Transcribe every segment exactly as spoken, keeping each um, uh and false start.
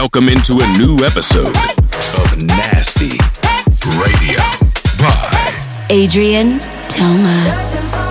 Welcome into a new episode of Nasty Radio by Adrian Toma.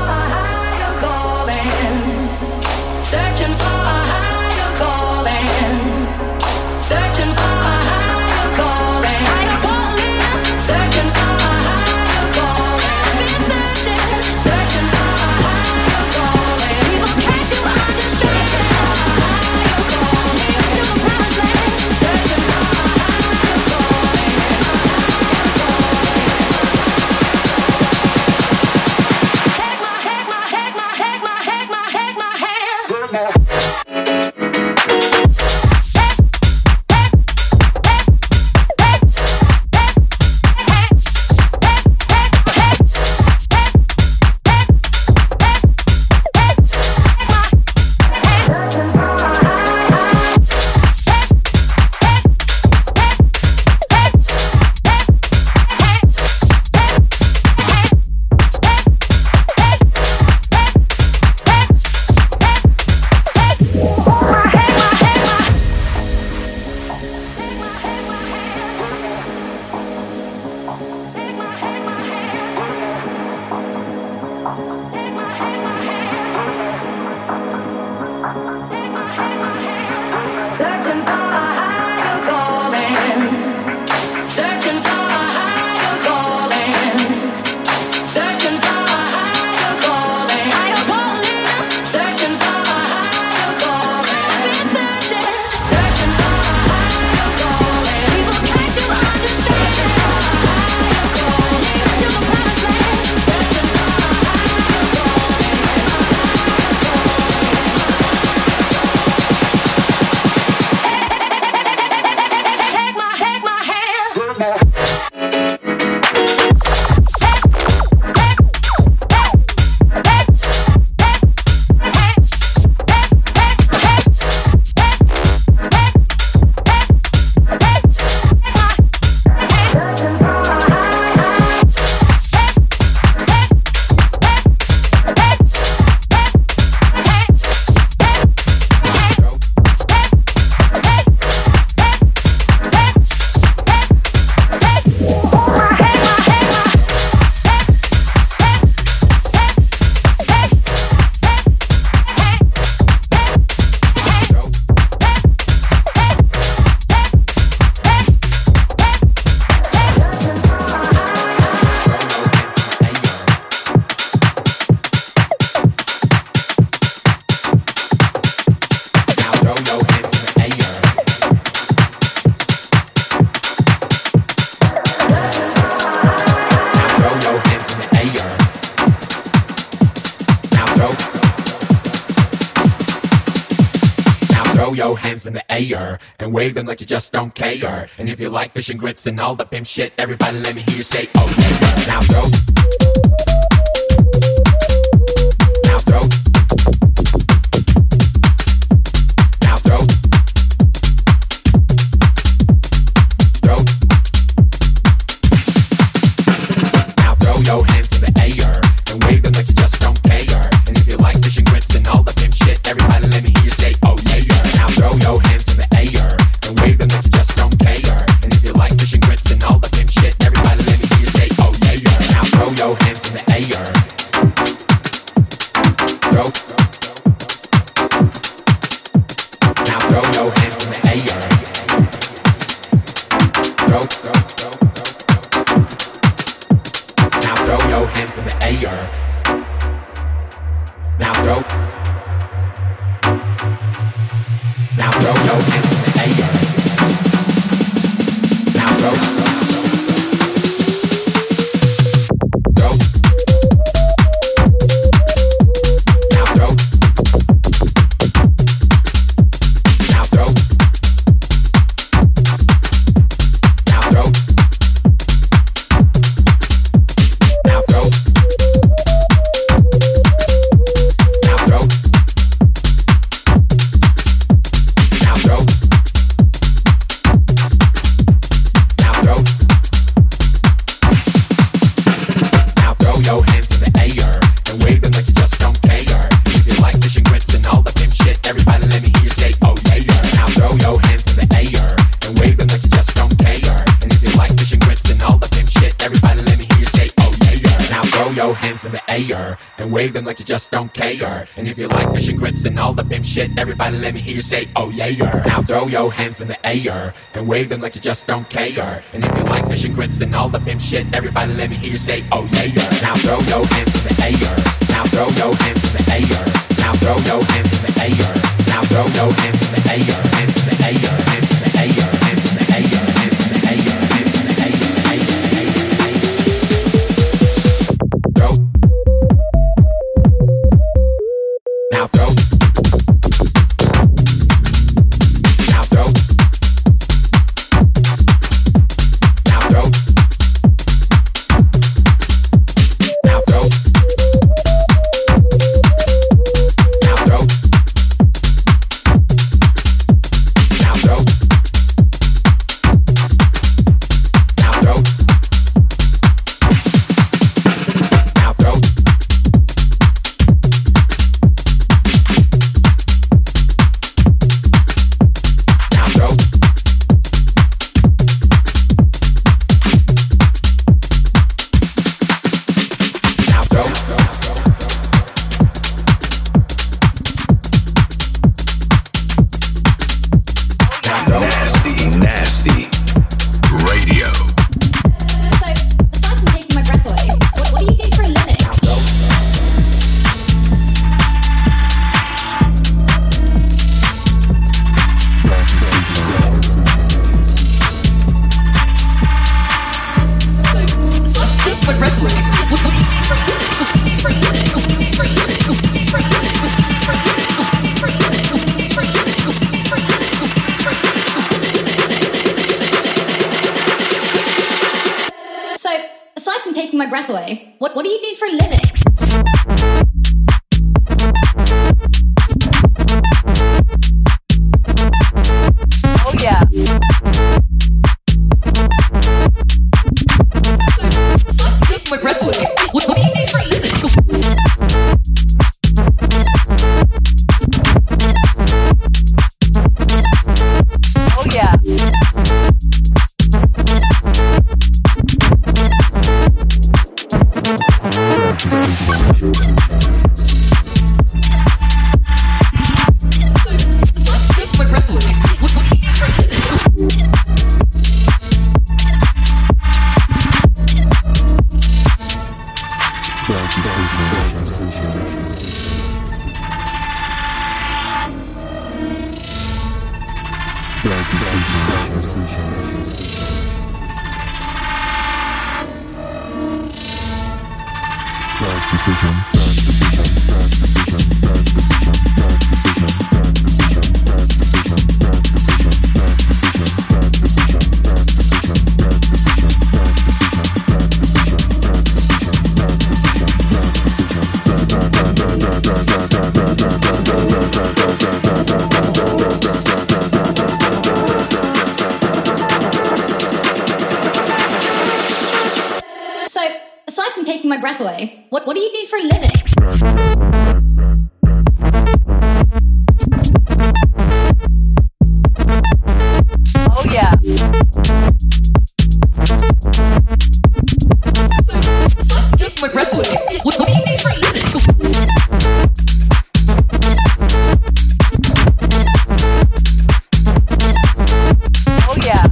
In the air and wave them like you just don't care. And if you like fish and grits and all the pimp shit, everybody let me hear you say, oh yeah. Now throw, now throw, now throw, throw, now throw your hands in the air and wave them like you just don't care. And if you like fish and grits and all the pimp shit, everybody let me hear you say, oh yeah. Now throw your hands in the air and wave them like you just don't care. And if you like fish and grits and all the pimp shit, everybody let me hear you say, oh yeah. Now throw your hands in the air. Throw. Now throw your hands in the air. Throw. Now throw your hands in the air. Now throw. Now throw your hands in the air. Now throw. Throw. Now throw. Now throw. Now throw. Now throw. Now throw. Now throw. hands in the air and wave them like you just don't care. And if you like fish and grits and all the pimp shit, everybody let me hear you say, oh yeah. Now throw your hands in the air and wave them like you just don't care. And if you like fish and grits and all the pimp shit, everybody let me hear you say, oh yeah. Now throw your hands in the air. Now throw your hands in the air. Now throw your hands in the air. Now throw your hands in the air. Hands in the air. Hands in the air. Hands in the air. Hands in the air. Hands in the air. Throw. Now throw. Now throw. Now throw. Now throw. Now throw. Now throw. Now throw. Now throw. Now throw. Now throw. Now throw. Nasty, nasty radio. So, aside from taking my breath away, what, what do you do for a living? Now throw. Just my breath away. What, what do you do for a living? What do you do for a living? What do you do for a living? What do you do for a living? What do you do for a living? What do you do for a living? What do you do for a living? What do you do for a living? What do you do for a living? So, aside from taking my breath away, what, what do you do for a living? Oh yeah. Aside from taking my breath away, what, what do you do for a living? Oh yeah. Aside from taking my breath away, what, what do you do for a living? So, aside from taking my breath away, what, what do you do for a living? Oh yeah. So, aside from taking my breath away, what, what do you do for a living? Oh yeah.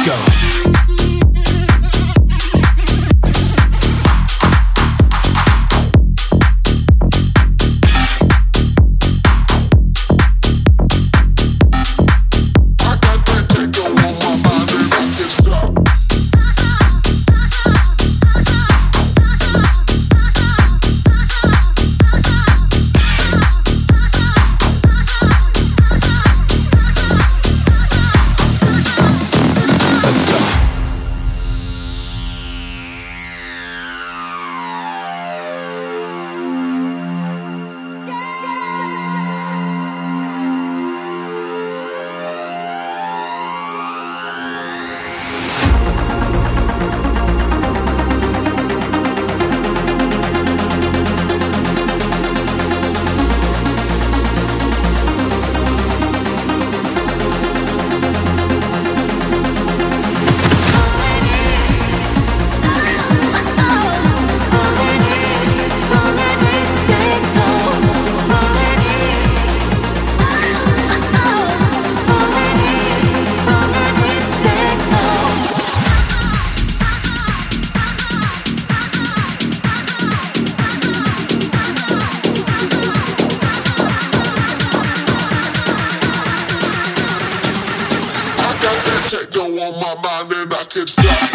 Techno on my mind and I can't stop.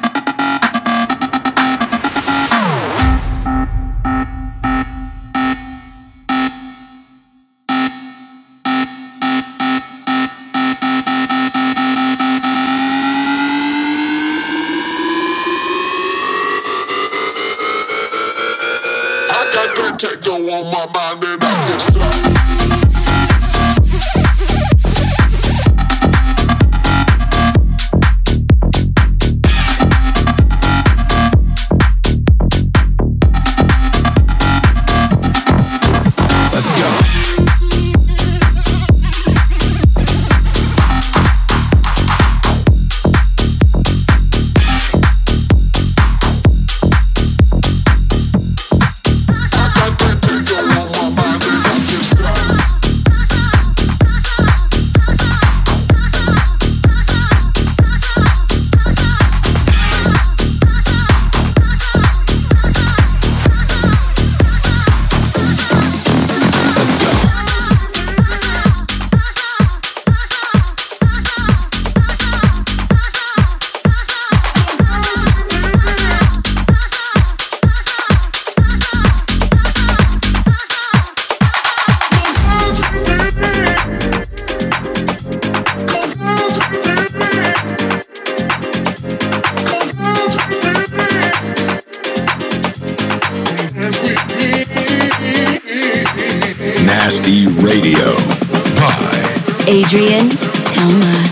I got that techno on my mind and I can't stop. Nasty Radio by Adrian Toma.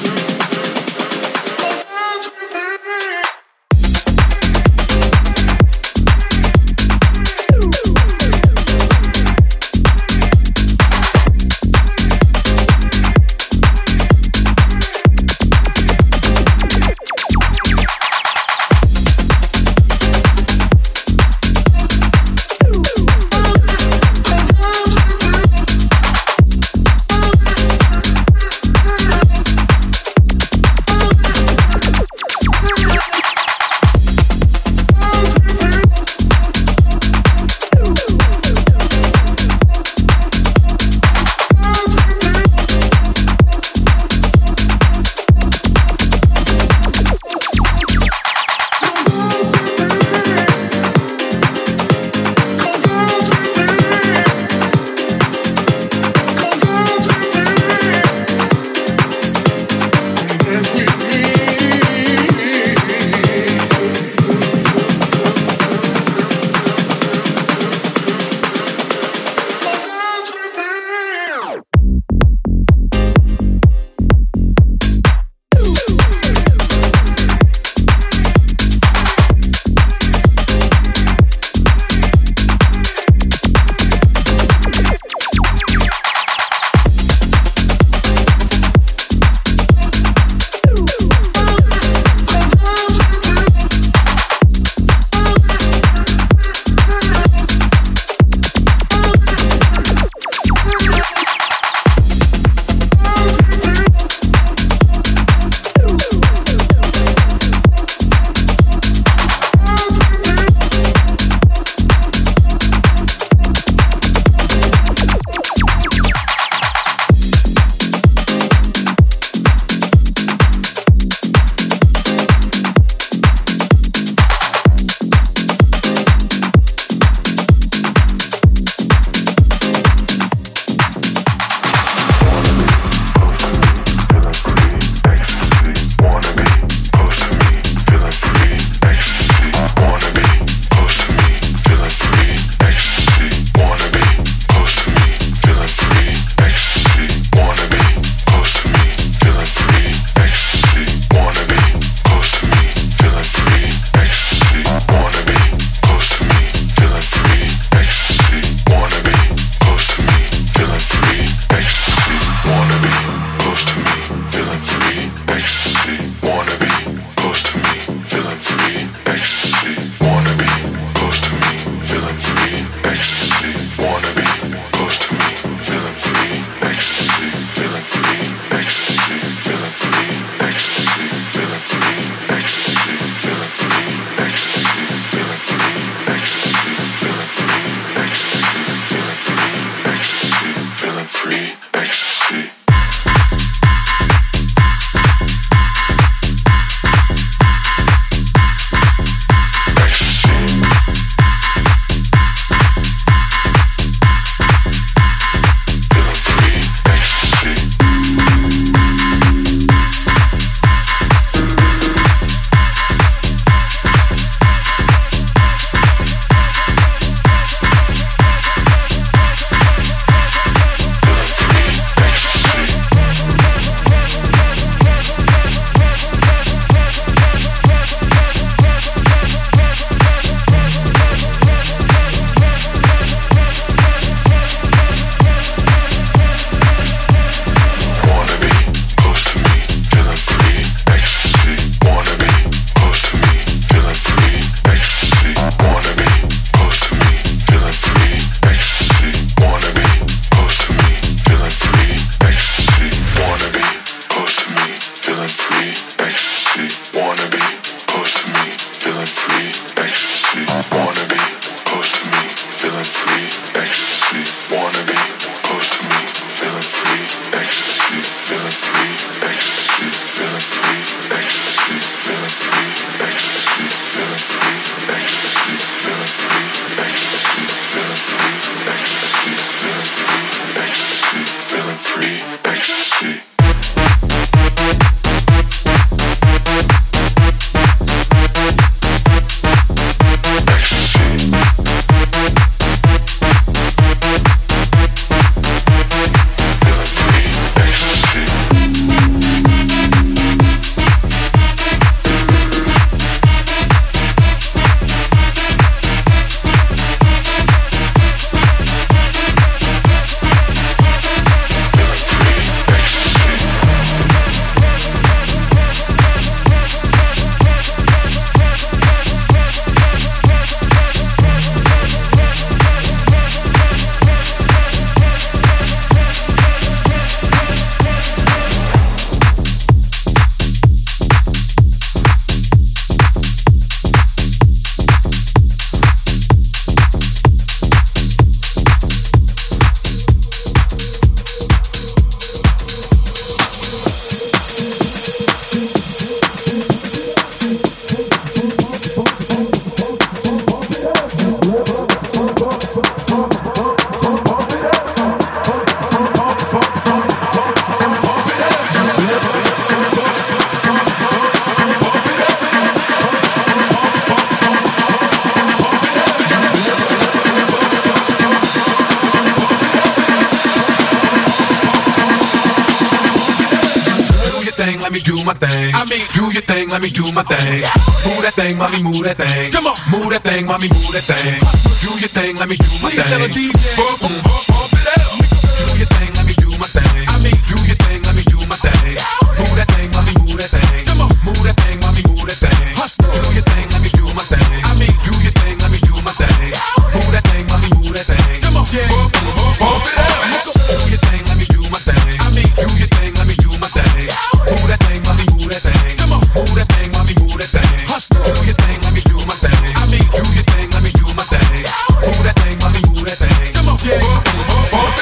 thing, let me do my thing. I mean, do your thing, let me do my thing. Move that thing, mommy, move that thing. Come on, move that thing, mommy, move that thing. Do your thing, let me do my thing. Bump, bump, bump it up. Do your thing, let me do my thing. I mean, do your thing, let me do my thing. Move that thing, mommy, move that thing. Come on, move that thing, mommy, move that thing. Do your thing, let me do my thing. I mean, do your thing, let me do my thing. Move that thing, mommy, move that thing. Come on, bump, bump, bump it up. Do your thing, let me do my thing. I mean, do your thing, let me do my thing. Move that thing, mommy, move that thing. Come on, move that thing, mommy, move that thing. Do your thing, let me do my thing. I mean, do your thing, let me do my thing. Move that thing, mommy, move that thing. Come on, bump, bump, bump.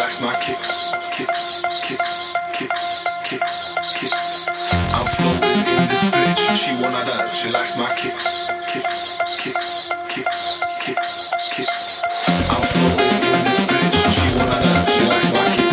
likes my kicks, kicks, kicks, kicks, kicks, kicks. I'm floating in this bitch, she wanna dance, she likes my kicks, kicks, kicks, kicks, kicks, kicks. I'm floating in this bitch, she wanna dance, she likes my kicks.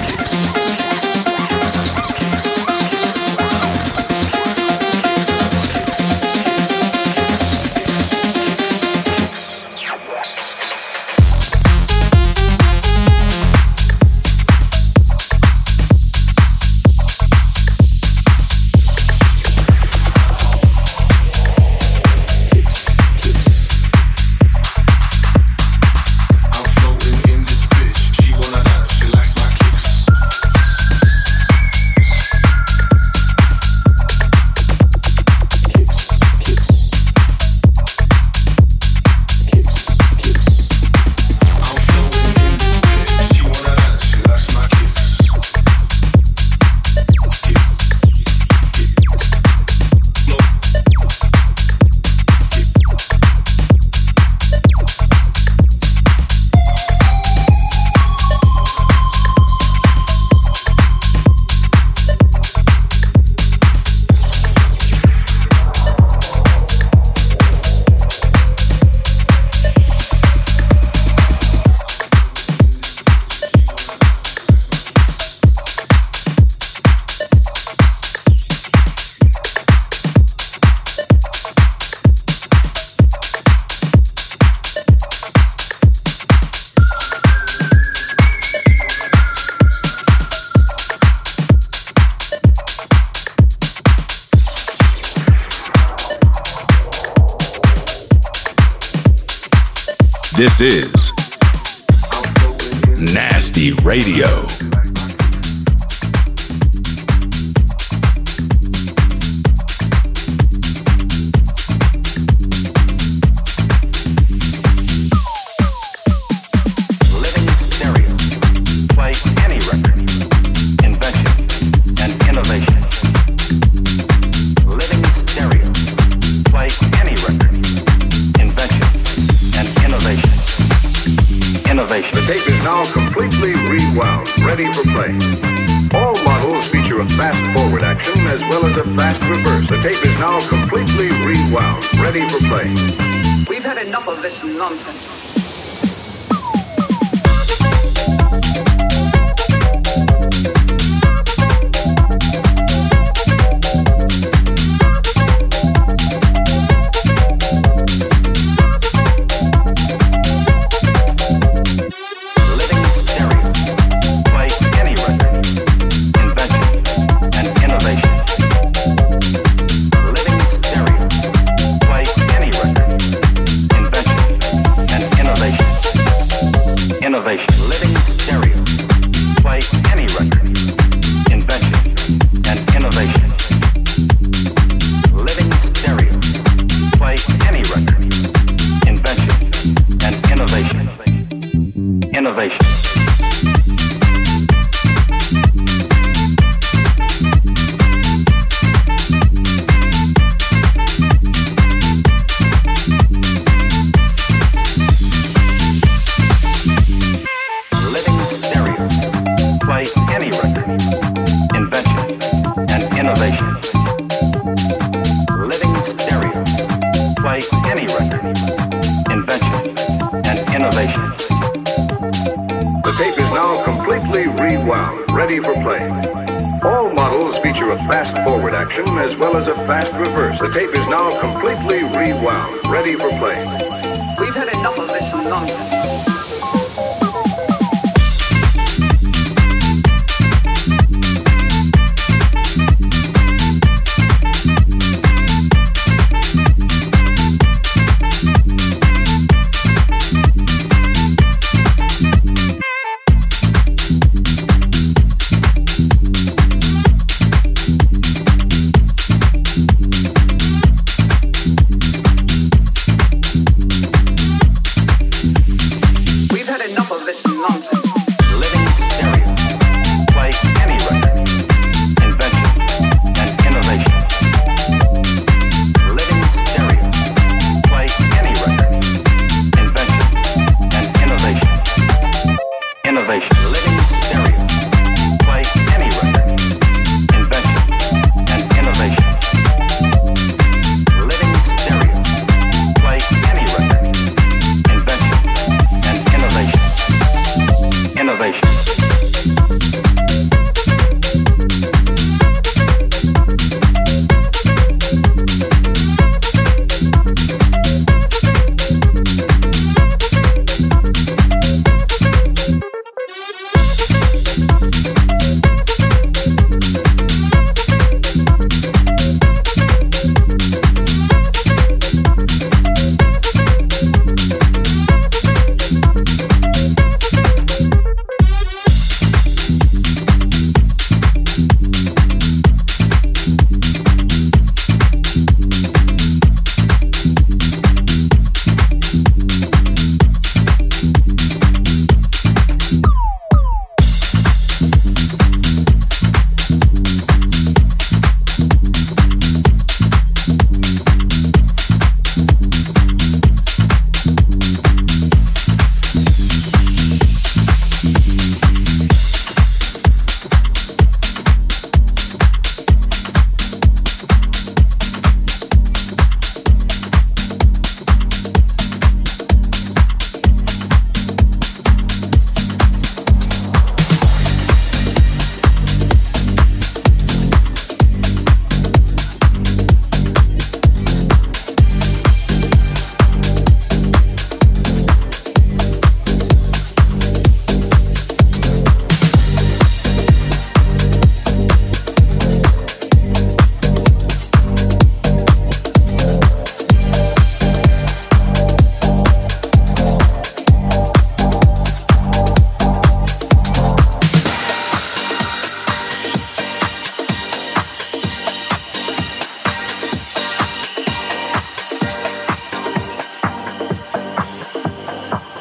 This is Nasty Radio. Ready for play. All models feature a fast forward action as well as a fast reverse. The tape is now completely rewound, ready for play. We've had enough of this nonsense. As well as a fast reverse. The tape is now completely rewound, ready for play. We've had enough of this nonsense.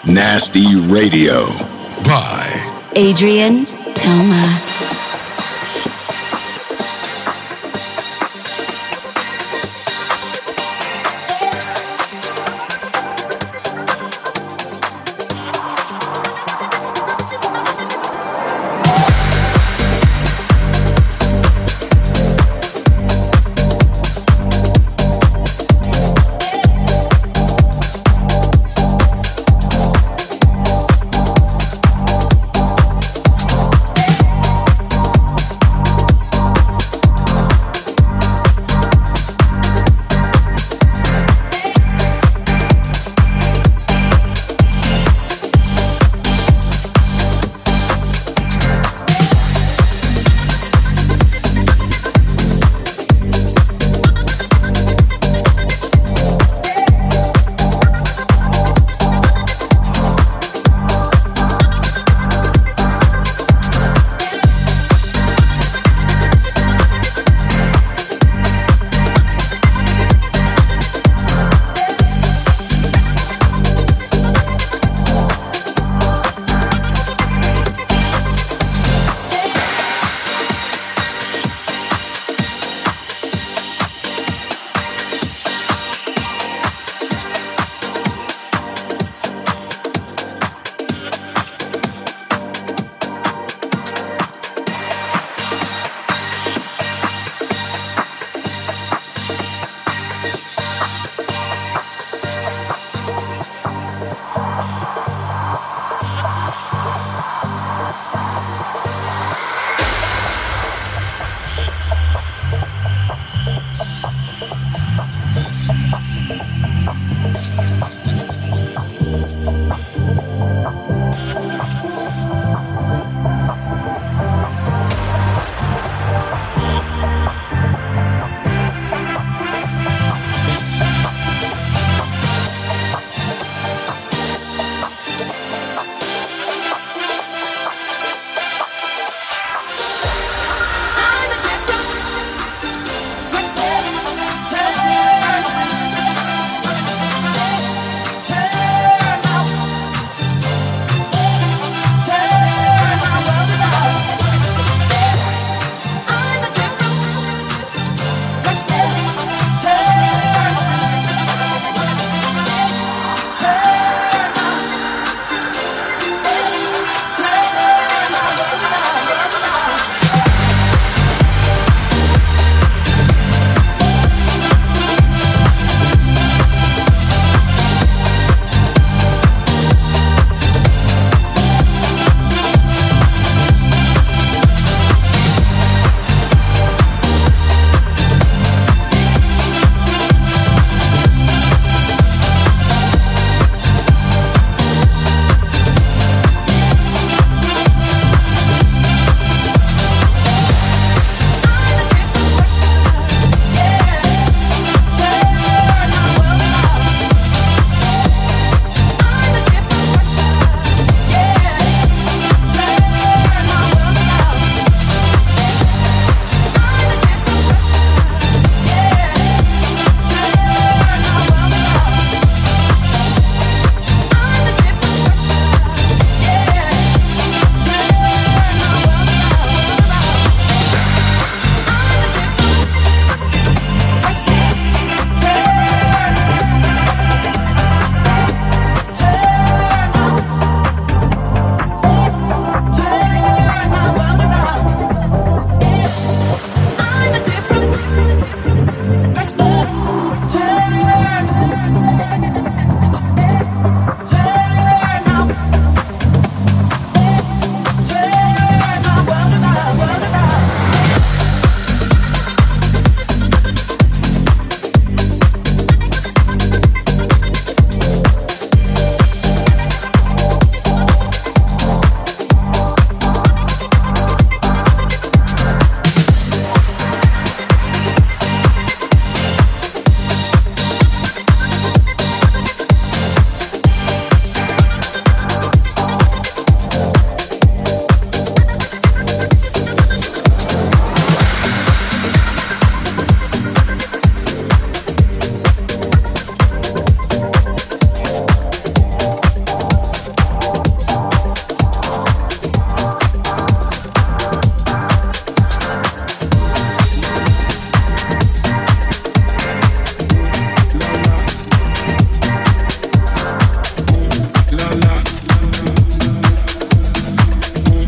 Nasty Radio by Adrian Toma.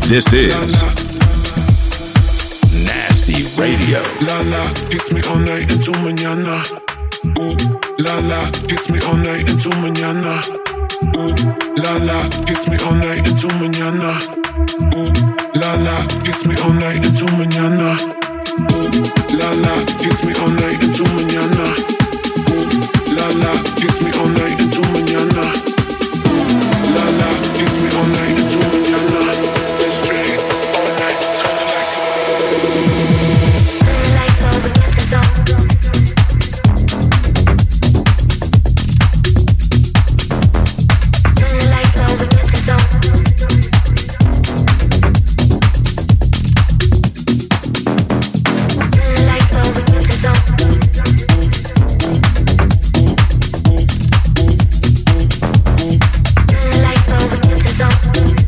This is Nasty Radio. La la, kiss me all night into mañana. Ooh, la la, kiss me all night into mañana. Ooh, la la, kiss me all night into mañana. Ooh, la la, kiss me all night into mañana. Ooh, la la, kiss me all night into mañana. Ooh, la la, kiss me all night into mañana. Ooh, la la, kiss me all night into mañana. Let's drink all night, turn the lights low. Turn the lights low against the zone. Turn the lights low against the zone. Turn the lights low against the zone. Turn the lights low against the zone.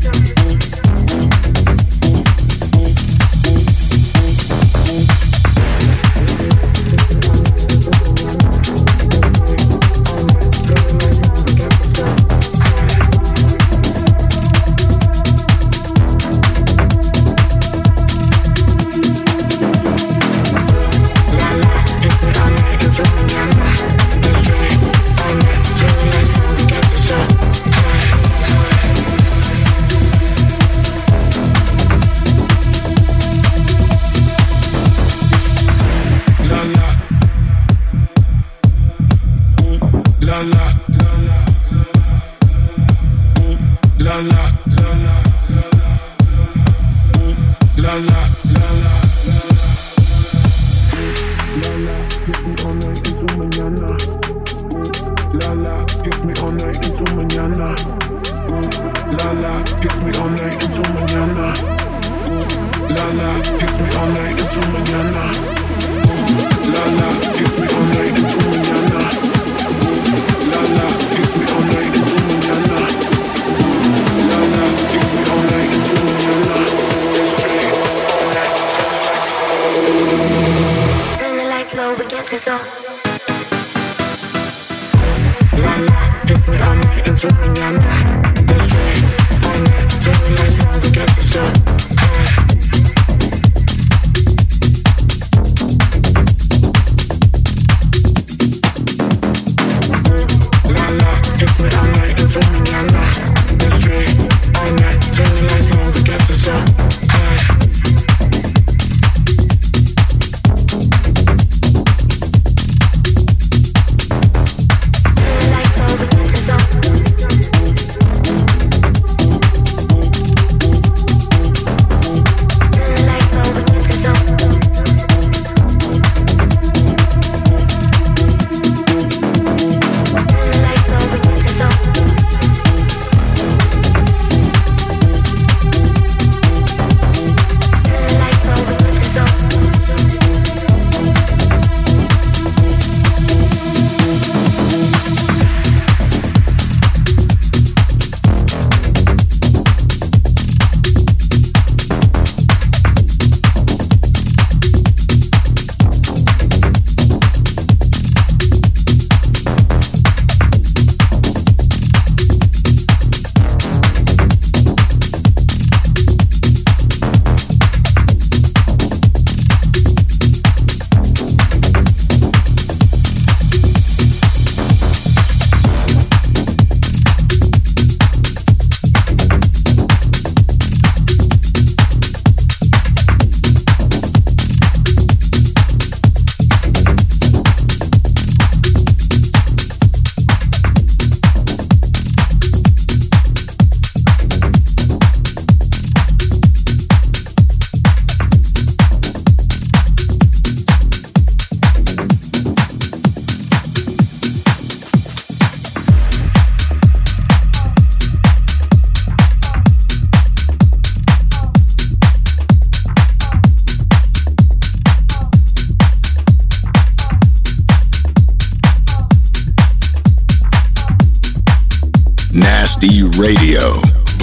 Nasty Radio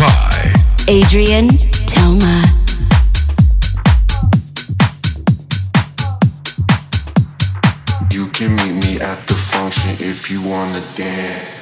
by Adrian Toma. You can meet me at the function if you wanna dance.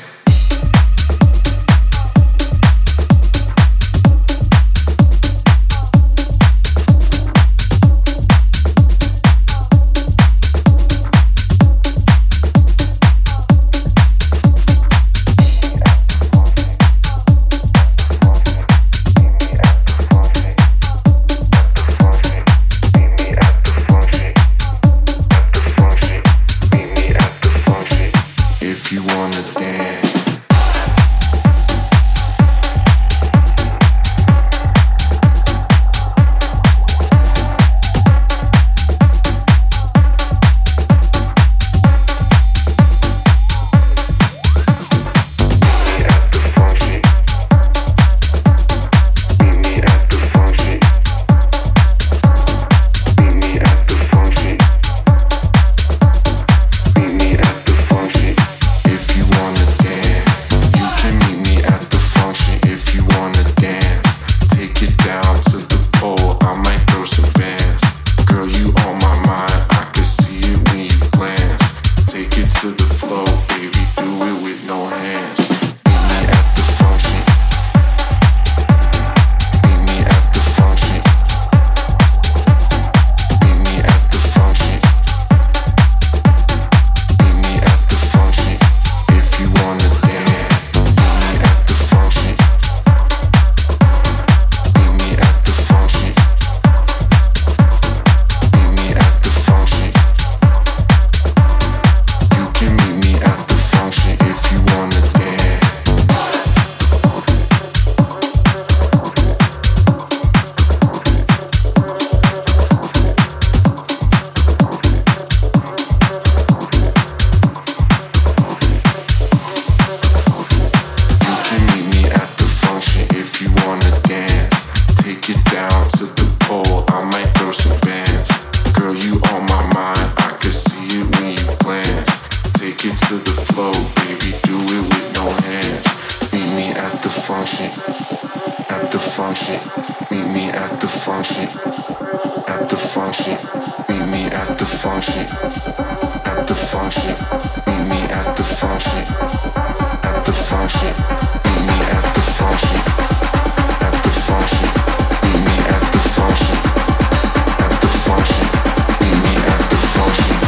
function, at the function. Meet me at the function, at the function. Meet me at the function, at the function. Meet me at the function, at the function. Meet me at the function, at the function. Meet me at the function, at the function. Meet me at the function.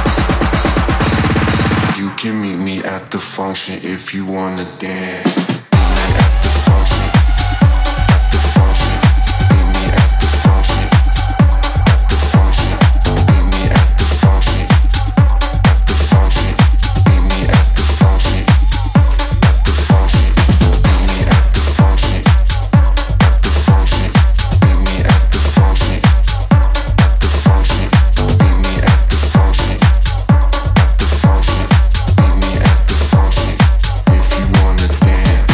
You can meet me at the function if you wanna dance. If you wanna dance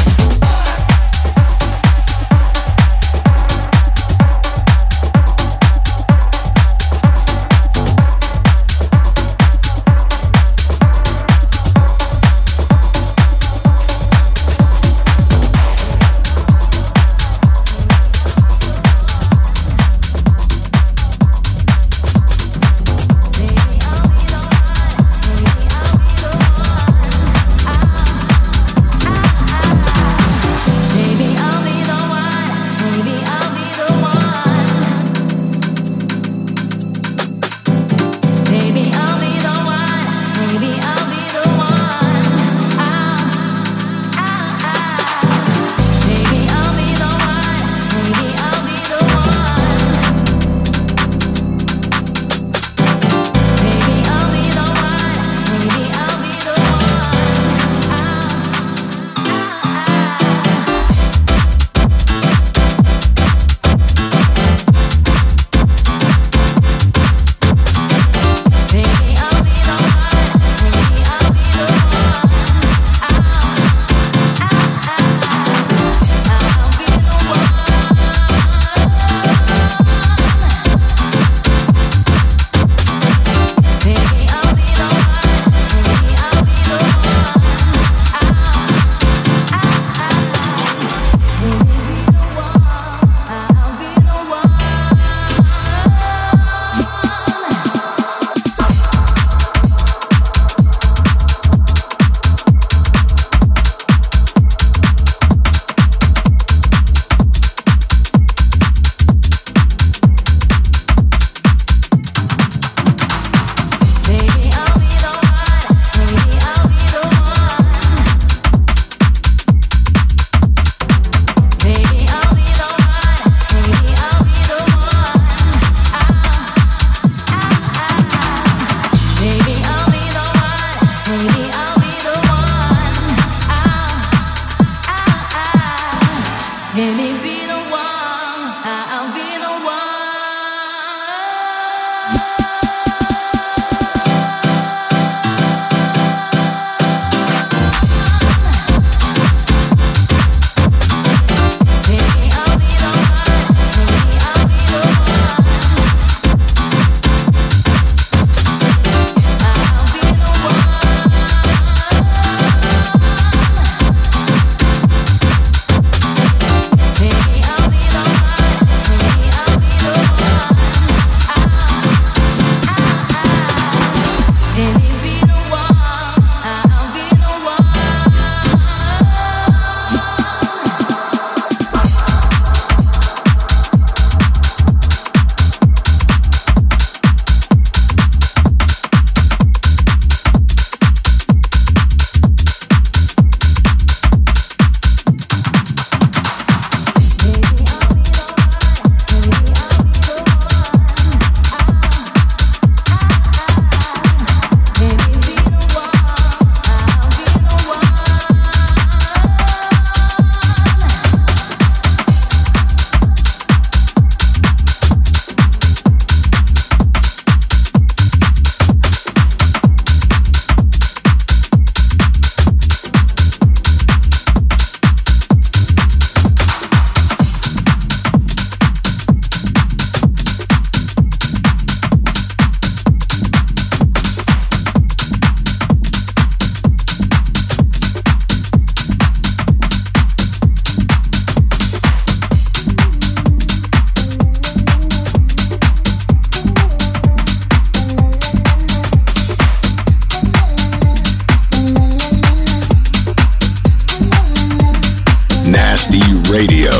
Radio.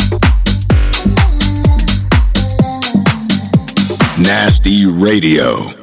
Nasty Radio.